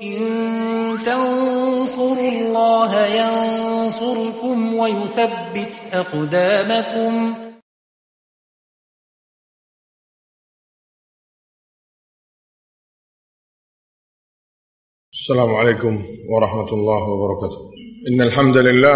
إن تنصروا الله ينصركم ويثبت أقدامكم. السلام عليكم ورحمة الله وبركاته. إن الحمد لله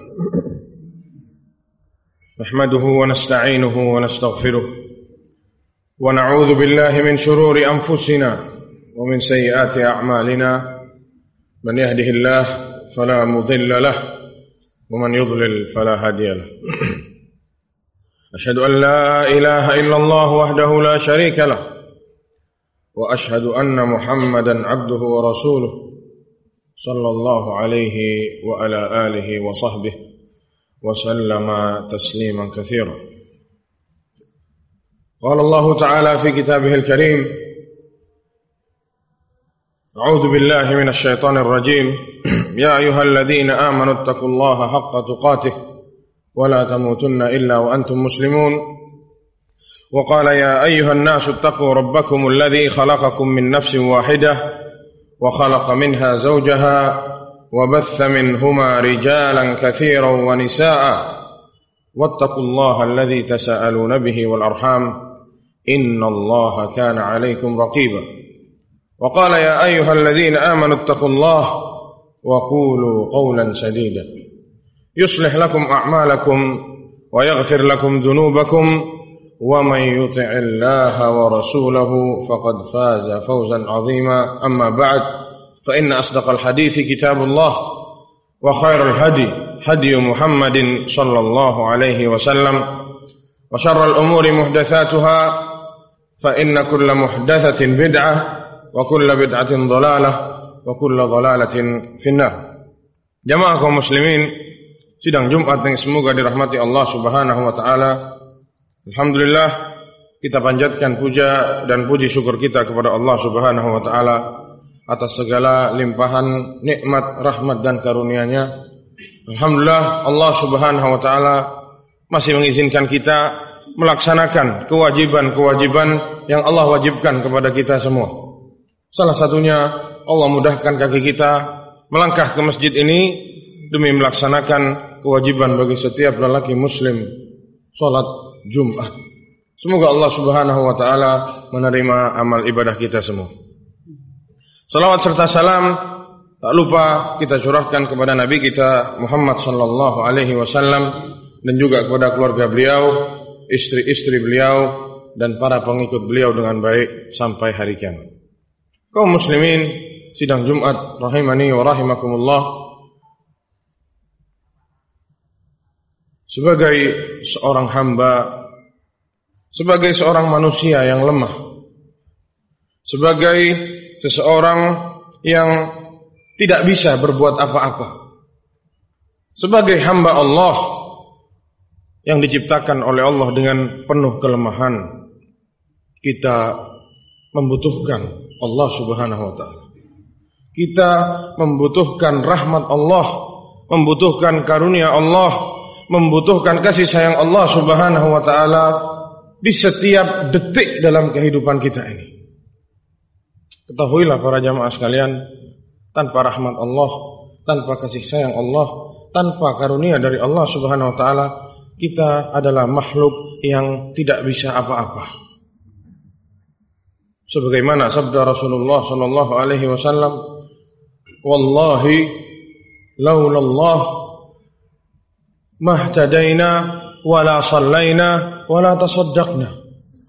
نحمده ونستعينه ونستغفره ونعوذ بالله من شرور أنفسنا ومن سيئات أعمالنا من يهده الله فلا مضل له ومن يضلل فلا هادي له. أشهد أن لا إله إلا الله وحده لا شريك له وأشهد أن محمدا عبده ورسوله صلى الله عليه وعلى آله وصحبه وسلم تسليما كثيرا. قال الله تعالى في كتابه الكريم: أعوذ بالله من الشيطان الرجيم. يا أيها الذين آمنوا اتقوا الله حق تقاته ولا تموتن إلا وأنتم مسلمون. وقال: يا أيها الناس اتقوا ربكم الذي خلقكم من نفس واحدة وخلق منها زوجها وبث منهما رجالا كثيرا ونساء واتقوا الله الذي تساءلون به والأرحام إن الله كان عليكم رقيبا. وقال: يا أيها الذين آمنوا اتقوا الله وقولوا قولا سديدا يصلح لكم أعمالكم ويغفر لكم ذنوبكم ومن يطع الله ورسوله فقد فاز فوزا عظيما. أما بعد، فإن أصدق الحديث كتاب الله وخير الهدي هدي محمد صلى الله عليه وسلم وشر الأمور محدثاتها فإن كل محدثة بدعة وكل بدعة ضلالة وكل ضلالة في النار. Jamaah kaum muslimin, sidang Jumat yang semoga dirahmati Allah Subhanahu wa taala. Alhamdulillah, kita panjatkan puja dan puji syukur kita kepada Allah Subhanahu wa taala atas segala limpahan nikmat, rahmat dan karunia-Nya. Alhamdulillah, Allah Subhanahu wa taala masih mengizinkan kita melaksanakan kewajiban-kewajiban yang Allah wajibkan kepada kita semua. Salah satunya, Allah mudahkan kaki kita melangkah ke masjid ini demi melaksanakan kewajiban bagi setiap lelaki muslim, salat Jumat. Semoga Allah Subhanahu wa taala menerima amal ibadah kita semua. Salawat serta salam tak lupa kita curahkan kepada Nabi kita Muhammad sallallahu alaihi wasallam dan juga kepada keluarga beliau, istri-istri beliau dan para pengikut beliau dengan baik sampai hari kiamat. Kaum muslimin, sidang Jumat rahimani wa rahimakumullah. Sebagai seorang hamba, sebagai seorang manusia yang lemah, sebagai seseorang yang tidak bisa berbuat apa-apa, sebagai hamba Allah yang diciptakan oleh Allah dengan penuh kelemahan, kita membutuhkan Allah Subhanahu wa taala. Kita membutuhkan rahmat Allah, membutuhkan karunia Allah, membutuhkan kasih sayang Allah Subhanahu wa taala di setiap detik dalam kehidupan kita ini. Ketahuilah para jamaah sekalian, tanpa rahmat Allah, tanpa kasih sayang Allah, tanpa karunia dari Allah Subhanahu wa taala, kita adalah makhluk yang tidak bisa apa-apa. Sebagaimana sabda Rasulullah sallallahu alaihi wasallam, "Wallahi laulallah mahtadaina wala sallaina wala tasaddaqna."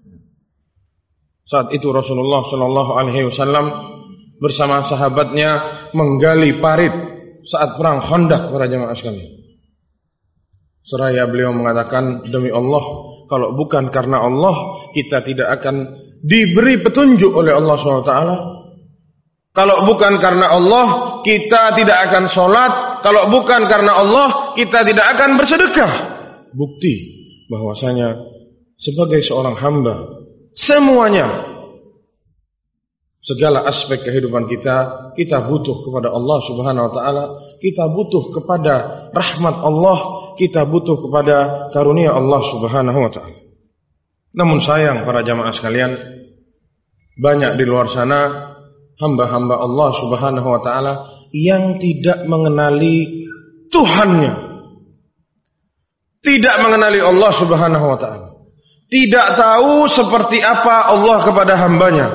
Saat itu Rasulullah sallallahu alaihi wasallam bersama sahabatnya menggali parit saat perang Khandaq, para jemaah sekalian. Seraya beliau mengatakan, "Demi Allah, kalau bukan karena Allah, kita tidak akan diberi petunjuk oleh Allah SWT. Kalau bukan karena Allah, kita tidak akan sholat. Kalau bukan karena Allah, kita tidak akan bersedekah." Bukti bahwasanya sebagai seorang hamba, semuanya, segala aspek kehidupan kita butuh kepada Allah Subhanahu wa taala, kita butuh kepada rahmat Allah, kita butuh kepada karunia Allah Subhanahu wa taala. Namun sayang para jamaah sekalian, banyak di luar sana hamba-hamba Allah Subhanahu wa taala yang tidak mengenali Tuhannya, tidak mengenali Allah Subhanahu wa taala, tidak tahu seperti apa Allah kepada hambanya,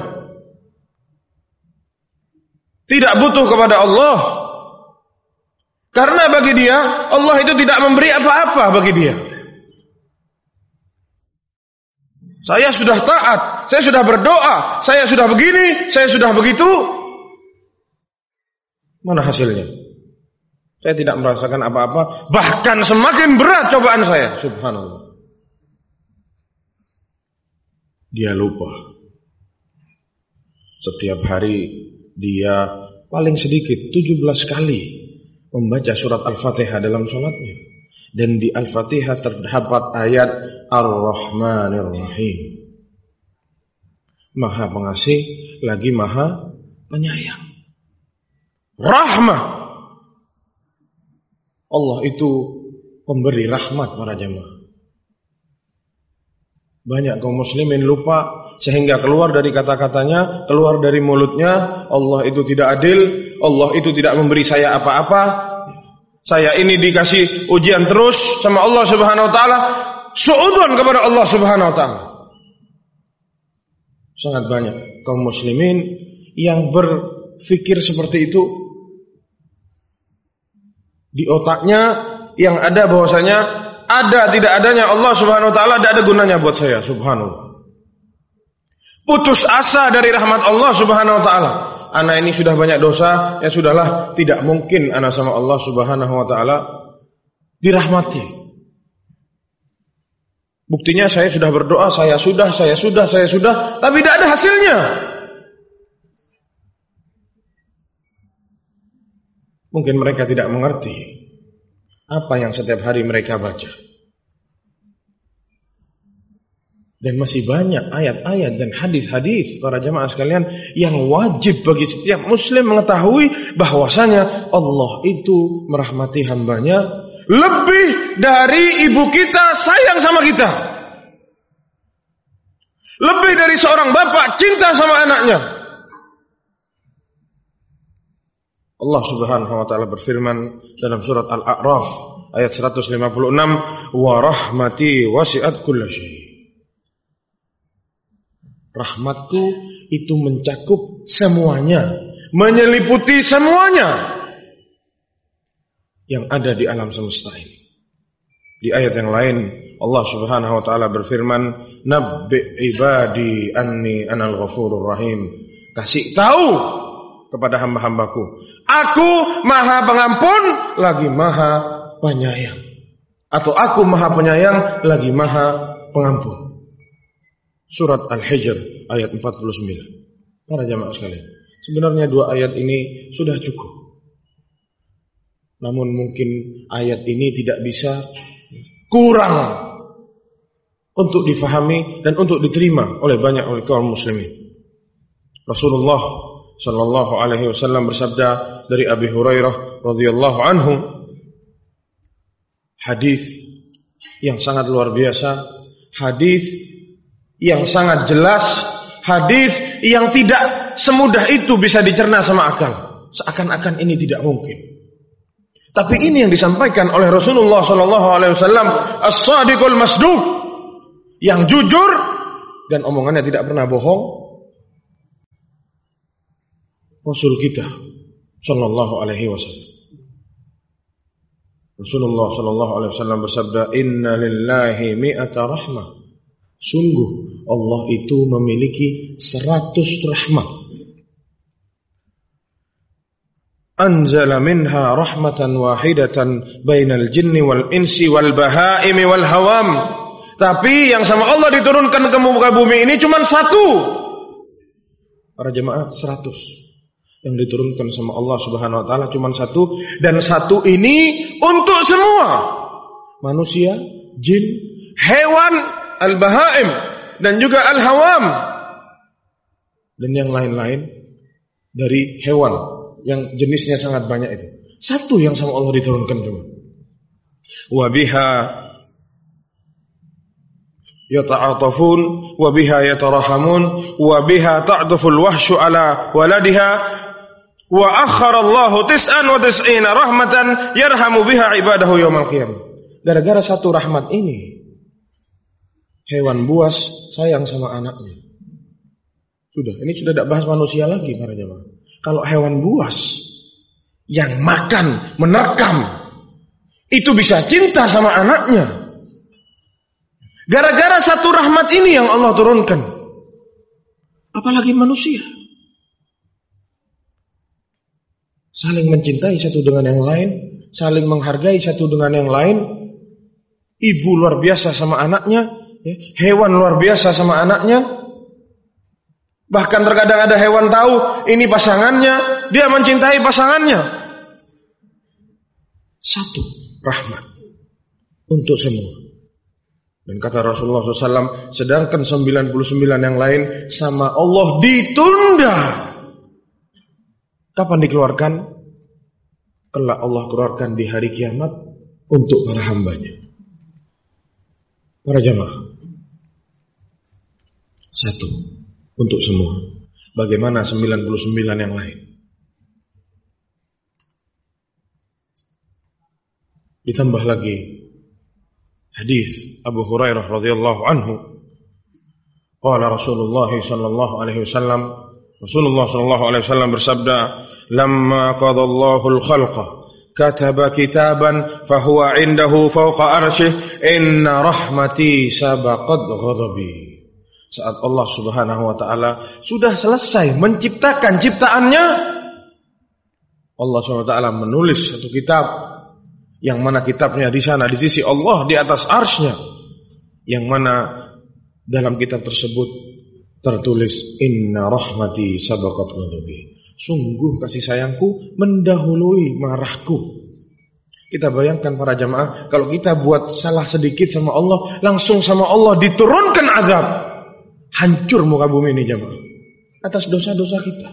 tidak butuh kepada Allah. Karena bagi dia Allah itu tidak memberi apa-apa bagi dia. Saya sudah taat, saya sudah berdoa, saya sudah begini, saya sudah begitu. Mana hasilnya? Saya tidak merasakan apa-apa, bahkan semakin berat cobaan saya. Subhanallah. Dia lupa. Setiap hari dia paling sedikit 17 kali membaca surat Al-Fatihah dalam sholatnya. Dan di Al-Fatihah terdapat ayat Ar-Rahmanir Rahim. Maha pengasih lagi maha penyayang. Rahmah. Allah itu pemberi rahmat para jemaah. Banyak kaum muslimin lupa sehingga keluar dari kata-katanya, keluar dari mulutnya, Allah itu tidak adil, Allah itu tidak memberi saya apa-apa. Saya ini dikasih ujian terus sama Allah Subhanahu wa taala, suudzon kepada Allah Subhanahu wa taala. Sangat banyak kaum muslimin yang berpikir seperti itu. Di otaknya yang ada bahwasanya ada tidak adanya Allah Subhanahu wa taala, tidak ada gunanya buat saya. Subhanallah. Putus asa dari rahmat Allah Subhanahu wa taala. Anak ini sudah banyak dosa, ya sudahlah, tidak mungkin anak sama Allah Subhanahu wa taala dirahmati. Buktinya saya sudah berdoa, saya sudah, tapi tidak ada hasilnya. Mungkin mereka tidak mengerti apa yang setiap hari mereka baca. Dan masih banyak ayat-ayat dan hadis-hadis para jemaah sekalian yang wajib bagi setiap muslim mengetahui bahwasanya Allah itu merahmati hambanya lebih dari ibu kita sayang sama kita, lebih dari seorang bapak cinta sama anaknya. Allah Subhanahu wa taala berfirman dalam surat Al-A'raf ayat 156, wa rahmati wasi'at kulla syai'. Rahmatku itu mencakup semuanya, menyeliputi semuanya yang ada di alam semesta ini. Di ayat yang lain Allah Subhanahu wa taala berfirman, nabbi ibadi anni anal ghafurur rahim. Kasih tahu kepada hamba-hambaku, aku maha pengampun lagi maha penyayang. Atau aku maha penyayang lagi maha pengampun. Surat Al-Hijr ayat 49. Para jamaah sekalian, sebenarnya dua ayat ini sudah cukup. Namun mungkin ayat ini tidak bisa kurang untuk difahami dan untuk diterima oleh banyak kaum muslimin. Rasulullah sallallahu alaihi wasallam bersabda dari Abi Hurairah radhiyallahu anhu, hadis yang sangat luar biasa, hadis yang sangat jelas, hadis yang tidak semudah itu bisa dicerna sama akal. Seakan-akan ini tidak mungkin. Tapi ini yang disampaikan oleh Rasulullah sallallahu alaihi wasallam, as-sadiqul masduq, yang jujur dan omongannya tidak pernah bohong. Rasul kita sallallahu alaihi wasallam. Rasulullah sallallahu alaihi wasallam bersabda, inna lillahi mi'ata rahmah. Sungguh Allah itu memiliki 100 rahmat. Anzala minha rahmatan wahidatan bainal jinni wal insi wal bahaimi wal hawam. Tapi yang sama Allah diturunkan ke muka bumi ini cuma 1. Para jemaah, 100 yang diturunkan sama Allah Subhanahu wa taala cuma 1, dan 1 ini untuk semua manusia, jin, hewan, al-bahaim dan juga al-hawam dan yang lain-lain dari hewan yang jenisnya sangat banyak itu. 1 yang sama Allah diturunkan cuma. Wa biha yata'atafun wa biha yatarahamun wa biha ta'tuful wahsyu ala waladiha wa akhara Allahu 99 rahmatan yarhamu biha ibadahu yaumil qiyamah. Gara-gara satu rahmat ini hewan buas sayang sama anaknya. Ini sudah tidak bahas manusia lagi para jemaah. Kalau hewan buas yang makan, menerkam, itu bisa cinta sama anaknya. Gara-gara satu rahmat ini yang Allah turunkan. Apalagi manusia. Saling mencintai satu dengan yang lain, saling menghargai satu dengan yang lain. Ibu luar biasa sama anaknya, hewan luar biasa sama anaknya. Bahkan terkadang ada hewan tahu ini pasangannya, dia mencintai pasangannya. Satu rahmat untuk semua. Dan kata Rasulullah SAW, sedangkan 99 yang lain sama Allah ditunda. Kapan dikeluarkan? Kelak Allah keluarkan di hari kiamat untuk para hambanya. Para jamaah. Satu untuk semua. Bagaimana 99 yang lain? Ditambah lagi hadis Abu Hurairah radhiyallahu anhu. Qala Rasulullah sallallahu alaihi wasallam, Rasulullah sallallahu alaihi wasallam bersabda, "Lamma qadallahu al-khalqa kataba kitaban fahuwa 'indahu fawqa arsyih, inna rahmati sabaqat ghadabi." Saat Allah Subhanahu wa taala sudah selesai menciptakan ciptaannya, Allah Subhanahu wa taala menulis satu kitab, yang mana kitabnya di sana di sisi Allah di atas arsy-Nya, yang mana dalam kitab tersebut tertulis inna rahmati sabaqat ghadabi. Sungguh kasih sayangku mendahului marahku. Kita bayangkan para jamaah, kalau kita buat salah sedikit sama Allah, langsung sama Allah diturunkan azab. Hancur muka bumi ini jamaah atas dosa-dosa kita.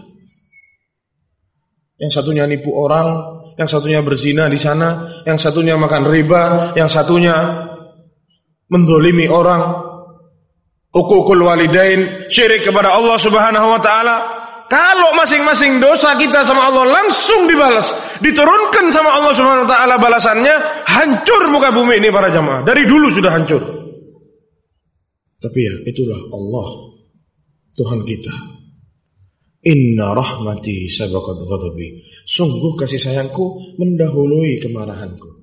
Yang satunya nipu orang, yang satunya berzina di sana, yang satunya makan riba, yang satunya mendolimi orang, uququl walidain, syirik kepada Allah Subhanahu wa taala. Kalau masing-masing dosa kita sama Allah langsung dibalas, diturunkan sama Allah Subhanahu wa taala balasannya, hancur muka bumi ini para jamaah. Dari dulu sudah hancur. Tapi ya, itulah Allah, Tuhan kita. Inna rahmati sabaqat ghadabi. Sungguh kasih sayangku mendahului kemarahanku.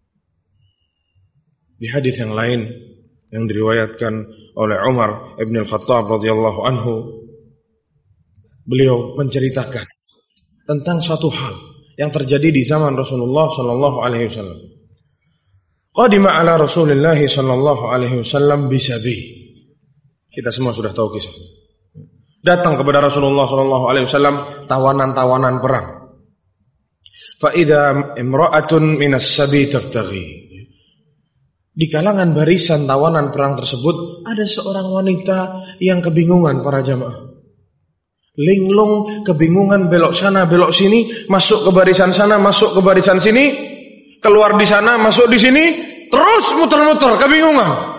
Di hadis yang lain yang diriwayatkan oleh Umar Ibn Al-Khattab radhiyallahu anhu, beliau menceritakan tentang suatu hal yang terjadi di zaman Rasulullah sallallahu alaihi wasallam. Qadima ala Rasulillah sallallahu alaihi wasallam bisabi. Kita semua sudah tahu kisahnya. Datang kepada Rasulullah sallallahu alaihi wasallam tawanan-tawanan perang. Fa idza imra'atun minas sabi tabtaghi. Di kalangan barisan tawanan perang tersebut ada seorang wanita yang kebingungan para jamaah. Linglung, kebingungan, belok sana, belok sini, masuk ke barisan sana, masuk ke barisan sini, keluar di sana, masuk di sini, terus muter-muter, kebingungan.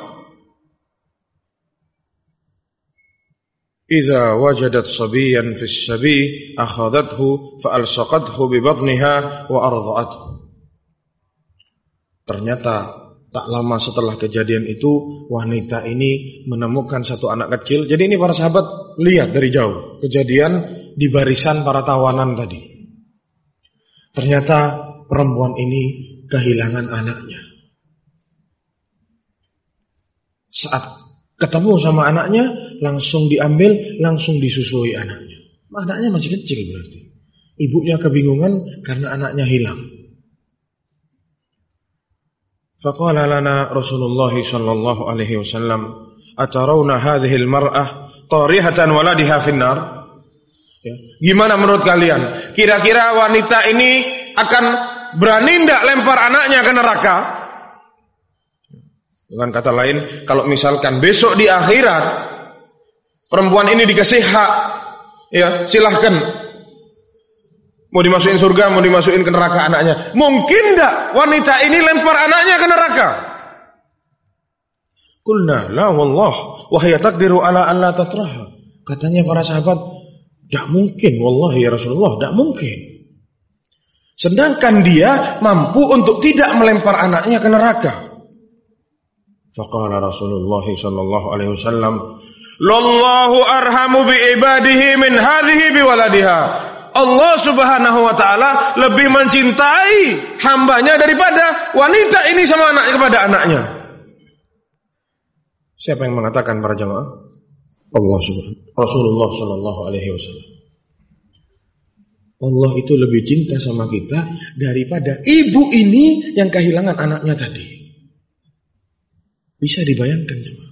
Idza wajadat sabiyan fi sabi akhadathu fa alsaqathu bi batniha wa arda'athu. Ternyata tak lama setelah kejadian itu wanita ini menemukan satu anak kecil. Jadi ini para sahabat lihat dari jauh kejadian di barisan para tawanan tadi. Ternyata perempuan ini kehilangan anaknya. Saat ketemu sama anaknya, langsung diambil, langsung disusui anaknya. Anaknya masih kecil berarti. Ibunya kebingungan karena anaknya hilang. Faqala lana Rasulullah sallallahu alaihi wasallam, "Atarawna hadhihi al-mar'ah tarihatan waladiha finnar?" Ya. Gimana menurut kalian? Kira-kira wanita ini akan berani enggak lempar anaknya ke neraka? Dengan kata lain, kalau misalkan besok di akhirat perempuan ini dikasih hak, ya silahkan, mau dimasukin surga, mau dimasukin ke neraka anaknya. Mungkin enggak wanita ini lempar anaknya ke neraka? Qulna la wallah wa hiya taqdiru ala an la tatraha. Katanya para sahabat, tidak mungkin, wallahi ya Rasulullah, tidak mungkin. Sedangkan dia mampu untuk tidak melempar anaknya ke neraka. Faqala Rasulullah sallallahu alaihi wasallam, "Lallahu arhamu bi ibadihi min hadhihi bi waladiha." Allah Subhanahu wa taala lebih mencintai hambanya daripada wanita ini sama anaknya kepada anaknya. Siapa yang mengatakan para jamaah? Allah Subhanahu Rasulullah sallallahu alaihi wasallam. Allah itu lebih cinta sama kita daripada ibu ini yang kehilangan anaknya tadi. Bisa dibayangkan jemaah?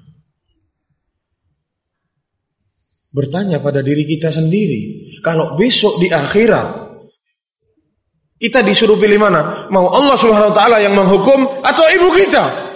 Bertanya pada diri kita sendiri, kalau besok di akhirat kita disuruh pilih mana? Mau Allah Subhanahu wa taala yang menghukum atau ibu kita?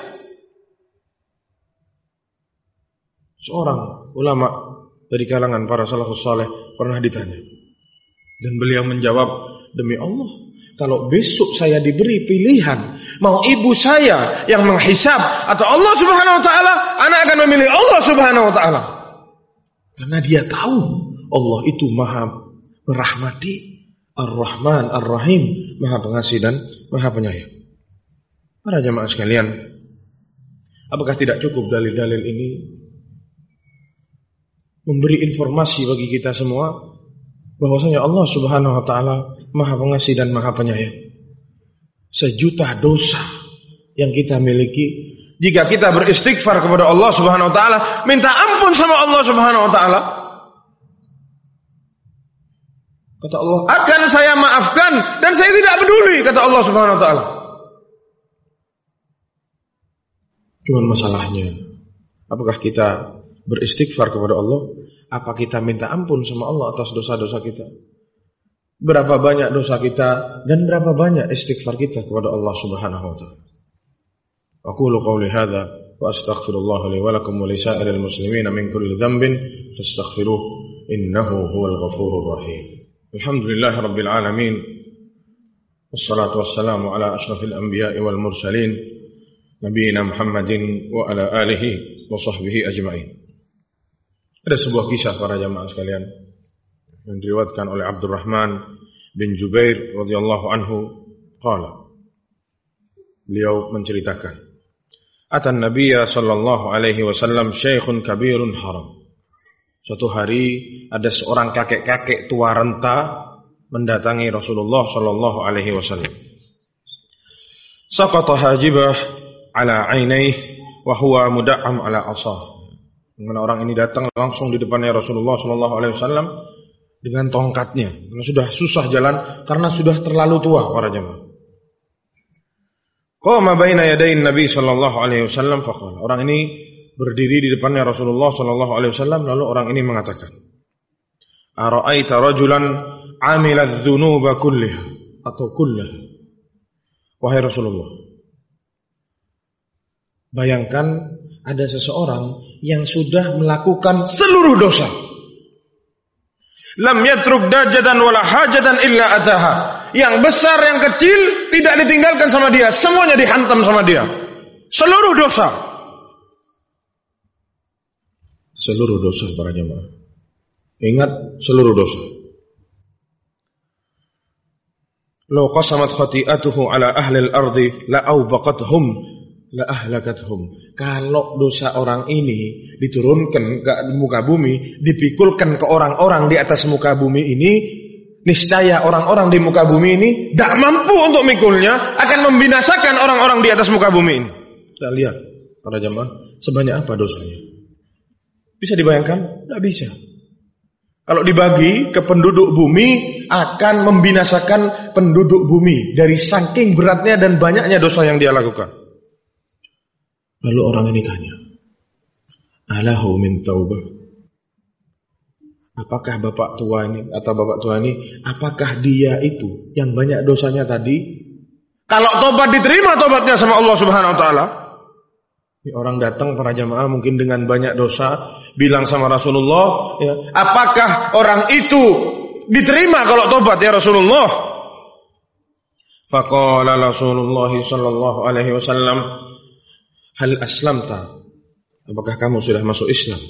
Seorang ulama dari kalangan para salafus saleh pernah ditanya, dan beliau menjawab, demi Allah, kalau besok saya diberi pilihan, mau ibu saya yang menghisab atau Allah Subhanahu wa taala, anak akan memilih Allah Subhanahu wa taala. Karena dia tahu Allah itu Maha merahmati, Ar-Rahman, Ar-Rahim, Maha pengasih dan Maha penyayang. Para jamaah sekalian, apakah tidak cukup dalil-dalil ini memberi informasi bagi kita semua bahwasanya Allah Subhanahu wa taala Maha pengasih dan Maha penyayang. Sejuta dosa yang kita miliki, jika kita beristighfar kepada Allah Subhanahu wa taala, minta ampun sama Allah Subhanahu wa taala, kata Allah, akan saya maafkan dan saya tidak peduli, kata Allah Subhanahu wa taala. Cuman masalahnya, apakah kita beristighfar kepada Allah? Apa kita minta ampun sama Allah atas dosa-dosa kita? Berapa banyak dosa kita dan berapa banyak istighfar kita kepada Allah Subhanahu wa taala? Aqulu qawli hadza wa astaghfirullah li wa lakum wa li sa'iril muslimin min kulli dhanbin fastaghfiruh innahu huwal ghafurur rahim. Alhamdulillahirabbil alamin. Wassalatu wassalamu ala asyrafil anbiya'i wal mursalin nabiyina Muhammadin wa ala alihi wa sahbihi ajma'in. Ada sebuah kisah para jamaah sekalian yang diriwayatkan oleh Abdurrahman bin Jubair radhiyallahu anhu qala. Beliau menceritakan, atan Nabiyya sallallahu alaihi wasallam syaikhun kabirun haram. Suatu hari ada seorang kakek-kakek tua renta mendatangi Rasulullah sallallahu alaihi wasallam. Saqata hajibah ala ainaihi wa huwa muda'am ala asah. Mana orang ini datang langsung di depannya Rasulullah sallallahu alaihi wasallam dengan tongkatnya. Karena sudah susah jalan karena sudah terlalu tua para jemaah. Qama baina yadayin Nabi sallallahu alaihi wasallam faqala. Orang ini berdiri di depannya Rasulullah sallallahu alaihi wasallam lalu orang ini mengatakan, "Ara'aita rajulan 'amila adz-dzunuba kullaha atau kullaha?" Wahai Rasulullah, bayangkan ada seseorang yang sudah melakukan seluruh dosa. Lam yatruk dajatan wala hajatan illa ataha. Yang besar yang kecil tidak ditinggalkan sama dia, semuanya dihantam sama dia. Seluruh dosa. Seluruh dosa para jemaah. Ingat, seluruh dosa. Law qasamat khati'atuhu ala ahli al-ardi la awbaqathum la ahlakathum. Kalau dosa orang ini diturunkan ke muka bumi, dipikulkan ke orang-orang di atas muka bumi ini, niscaya orang-orang di muka bumi ini tidak mampu untuk mikulnya, akan membinasakan orang-orang di atas muka bumi ini. Kita lihat para jemaah, sebanyak apa dosanya. Bisa dibayangkan? Tidak bisa. Kalau dibagi ke penduduk bumi, akan membinasakan penduduk bumi dari saking beratnya dan banyaknya dosa yang dia lakukan. Lalu orang ini tanya, alahu min taubah? Apakah bapak tua ini atau bapak tua ini, apakah dia itu yang banyak dosanya tadi? Kalau tobat diterima tobatnya sama Allah Subhanahu wa taala. Ini orang datang para jamaah mungkin dengan banyak dosa, bilang sama Rasulullah, ya, apakah orang itu diterima kalau tobat ya Rasulullah? Faqala Rasulullah sallallahu alaihi wasallam, hal aslamta apakah kamu sudah masuk Islam?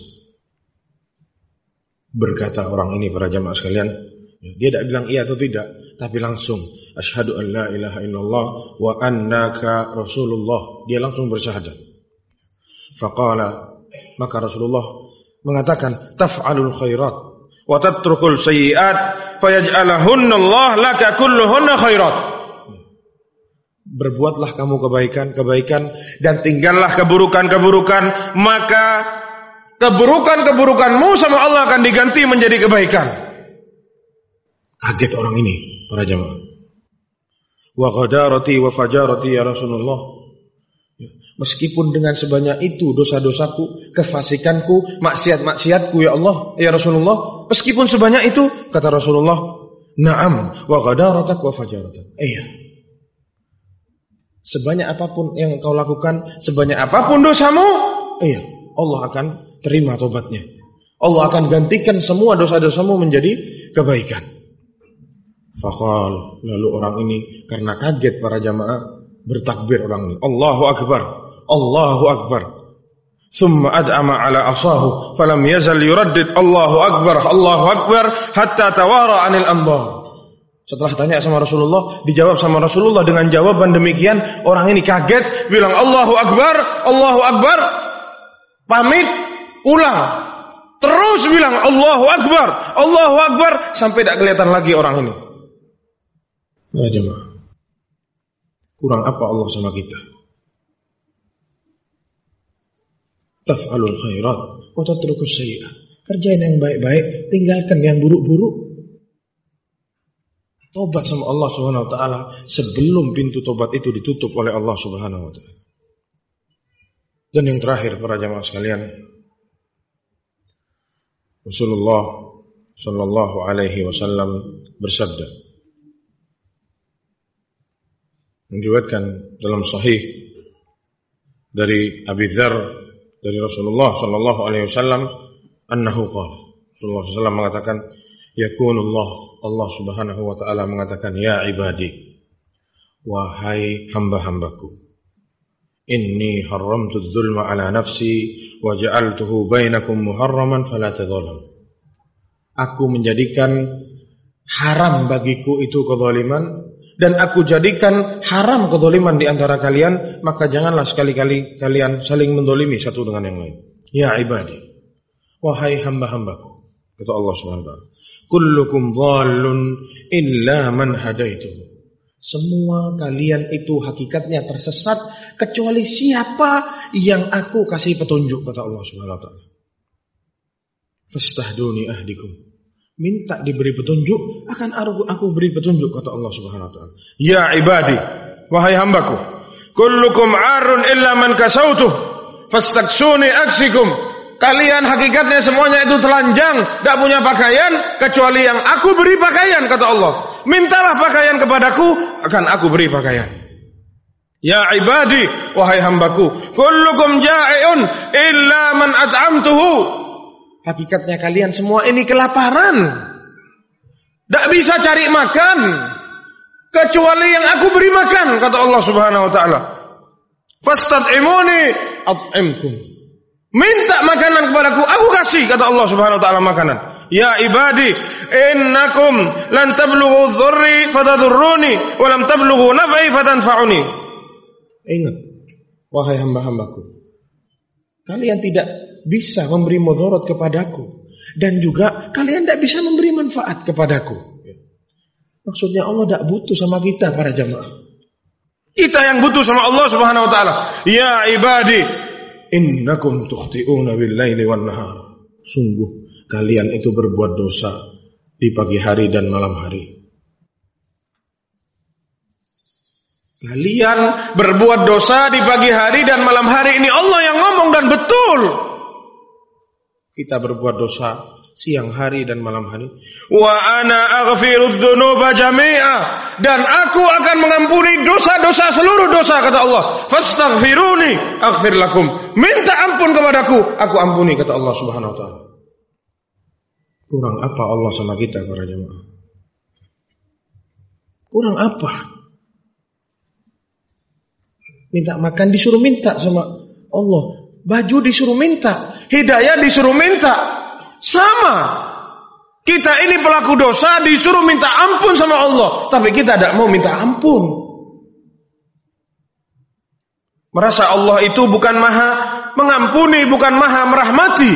Berkata orang ini, para jamaah sekalian, dia tidak bilang iya atau tidak, tapi langsung asyhadu an la ilaha illallah wa annaka rasulullah. Dia langsung bersyahadat. Faqala, maka Rasulullah mengatakan, taf'alul khairat wa tatrukul sayyi'at fayaj'alahunna Allah laka kulluhunna khairat. Berbuatlah kamu kebaikan dan tinggallah keburukan, maka keburukanmu sama Allah akan diganti menjadi kebaikan. Kaget orang ini, para jamaah. Wa ghadarati wa fajarati ya Rasulullah. Meskipun dengan sebanyak itu dosa-dosaku, kefasikanku, maksiat-maksiatku ya Allah, ya Rasulullah, meskipun sebanyak itu, kata Rasulullah, na'am wa ghadaratak wa fajaratak. Iya. Sebanyak apapun yang kau lakukan, sebanyak apapun dosamu, iya, Allah akan terima tobatnya. Allah akan gantikan semua dosa-dosamu menjadi kebaikan. Faqal, lalu orang ini karena kaget para jamaah bertakbir orang ini. Allahu Akbar, Allahu Akbar. Thumma ad'ama ala asahu falam yazal yuraddid Allahu Akbar, Allahu Akbar hatta tawara anil anbar. Setelah tanya sama Rasulullah, dijawab sama Rasulullah dengan jawaban demikian, orang ini kaget, bilang Allahu Akbar, Allahu Akbar, pamit, pulang. Terus bilang Allahu Akbar, Allahu Akbar, sampai tidak kelihatan lagi orang ini. Ya jemaah, kurang apa Allah sama kita? Taf'alul khairat wa tatrukus sayyi'at. Kerjain yang baik-baik, tinggalkan yang buruk-buruk. Tobat sama Allah Subhanahu wa taala sebelum pintu tobat itu ditutup oleh Allah Subhanahu wa taala. Dan yang terakhir para jamaah sekalian, Rasulullah sallallahu alaihi wasallam bersabda, diriwayatkan dalam sahih dari Abi Dzar dari Rasulullah sallallahu alaihi wasallam annahu qala, Rasulullah sallallahu alaihi wasallam mengatakan, yakunullah, Allah Subhanahu wa taala mengatakan, ya ibadi, wahai hamba-hambaku, inni haramtu dzulma ala nafsi wa ja'altuhu bainakum muharraman fala tadzalamu. Aku menjadikan haram bagiku itu kezaliman, dan aku jadikan haram kezaliman di antara kalian, maka janganlah sekali-kali kalian saling mendolimi satu dengan yang lain. Ya ibadi, wahai hamba-hambaku, kata Allah Subhanahu wa taala, kullukum dhallun illa man hadaituhu. Semua kalian itu hakikatnya tersesat kecuali siapa yang aku kasih petunjuk, kata Allah Subhanahu wa taala. Fastahduni ahdikum. Minta diberi petunjuk, akan aku beri petunjuk, kata Allah Subhanahu wa taala. Ya ibadi, wahai hambaku, kullukum 'arun illa man kasautuh fastaksuni aksikum. Kalian hakikatnya semuanya itu telanjang, tidak punya pakaian kecuali yang aku beri pakaian, kata Allah. Mintalah pakaian kepadaku, akan aku beri pakaian. Ya ibadi, wahai hambaku, kullukum ja'iun illa man at'amtuhu. Hakikatnya kalian semua ini kelaparan, tidak bisa cari makan kecuali yang aku beri makan, kata Allah Subhanahu wa taala. Fastad'imuni at'imkum. Minta makanan kepadaku, aku kasih, kata Allah Subhanahu wa taala makanan. Ya ibadi, innakum lan tablughu dhurri fatadhurruni wa lam tablughu naf'i fatanfa'uni. Ingat, wahai hamba-hambaku, kalian tidak bisa memberi mudarat kepadaku, dan juga kalian tidak bisa memberi manfaat kepadaku. Maksudnya Allah tidak butuh sama kita, para jamaah. Kita yang butuh sama Allah Subhanahu wa taala. Ya ibadi, innakum tukhti'una bil-laili wan-nahar. Sungguh kalian itu berbuat dosa di pagi hari dan malam hari. Kalian berbuat dosa di pagi hari dan malam hari. Ini Allah yang ngomong, dan betul. Kita berbuat dosa siang hari dan malam hari. Wa ana aghfirudz dzunuba jami'a, dan aku akan mengampuni dosa-dosa, seluruh dosa, kata Allah. Fastaghfiruni aghfir lakum. Minta ampun kepadaku, aku ampuni, kata Allah Subhanahu wa taala. Kurang apa Allah sama kita, para jemaah? Kurang apa? Minta makan disuruh minta sama Allah. Baju disuruh minta, hidayah disuruh minta. Sama. Kita ini pelaku dosa disuruh minta ampun sama Allah, tapi kita tidak mau minta ampun. Merasa Allah itu bukan maha mengampuni, bukan maha merahmati.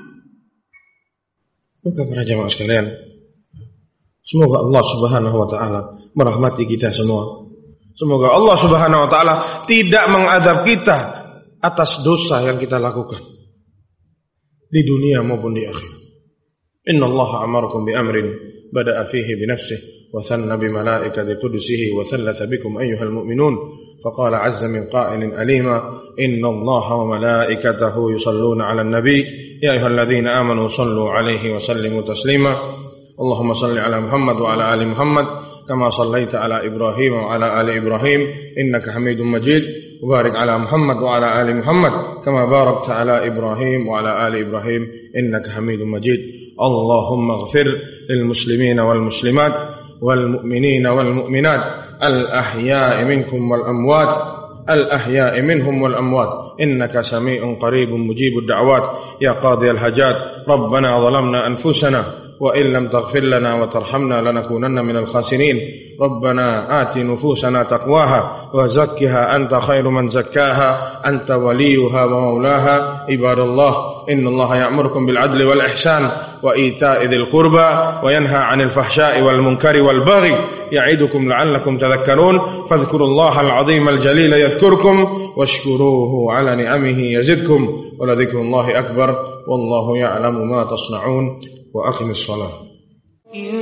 Maka para jamaah sekalian, semoga Allah Subhanahu wa taala merahmati kita semua. Semoga Allah Subhanahu wa taala tidak mengazab kita atas dosa yang kita lakukan di dunia maupun di akhirat. Inna Allah amarakum bi amrin bada'a fihi bi nafsihi wa thanna bi malaikati qudusihi wa thallatha bikum ayyuhal mu'minun faqala 'azza min qa'ilin alima inna Allah wa malaikatahu yusalluna 'alan nabiy ya ayyuhalladzina amanu sallu 'alaihi wa sallimu taslima Allahumma salli 'ala Muhammad wa 'ala ali Muhammad kama sallaita 'ala Ibrahim wa 'ala ali Ibrahim innaka Hamidum Majid wa barik 'ala Muhammad wa 'ala ali Muhammad kama barakta 'ala Ibrahim wa 'ala ali Ibrahim innaka Hamidum Majid اللهم اغفر للمسلمين والمسلمات والمؤمنين والمؤمنات الأحياء منكم والأموات الأحياء منهم والأموات إنك سميع قريب مجيب الدعوات يا قاضي الحاجات ربنا ظلمنا أنفسنا وإن لم تغفر لنا وترحمنا لنكونن من الخاسرين ربنا آت نفوسنا تقواها وزكها أنت خير من زكاها أنت وليها ومولاها عباد الله إن الله يأمركم بالعدل والإحسان وإيتاء ذي القربى وينهى عن الفحشاء والمنكر والبغي يعظكم لعلكم تذكرون فاذكروا الله العظيم الجليل يذكركم واشكروه على نعمه يزدكم ولذكر الله أكبر والله يعلم ما تصنعون وأقم الصلاة إن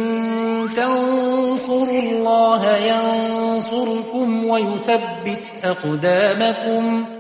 تنصروا الله ينصركم ويثبت أقدامكم